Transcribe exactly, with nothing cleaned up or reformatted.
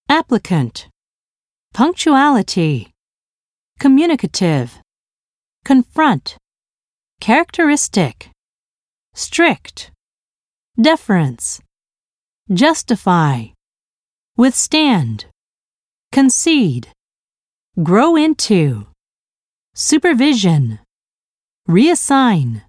applicant, punctuality, communicative, confront, characteristic, strict, deference, justify, withstand, concede, grow into, supervision, reassign.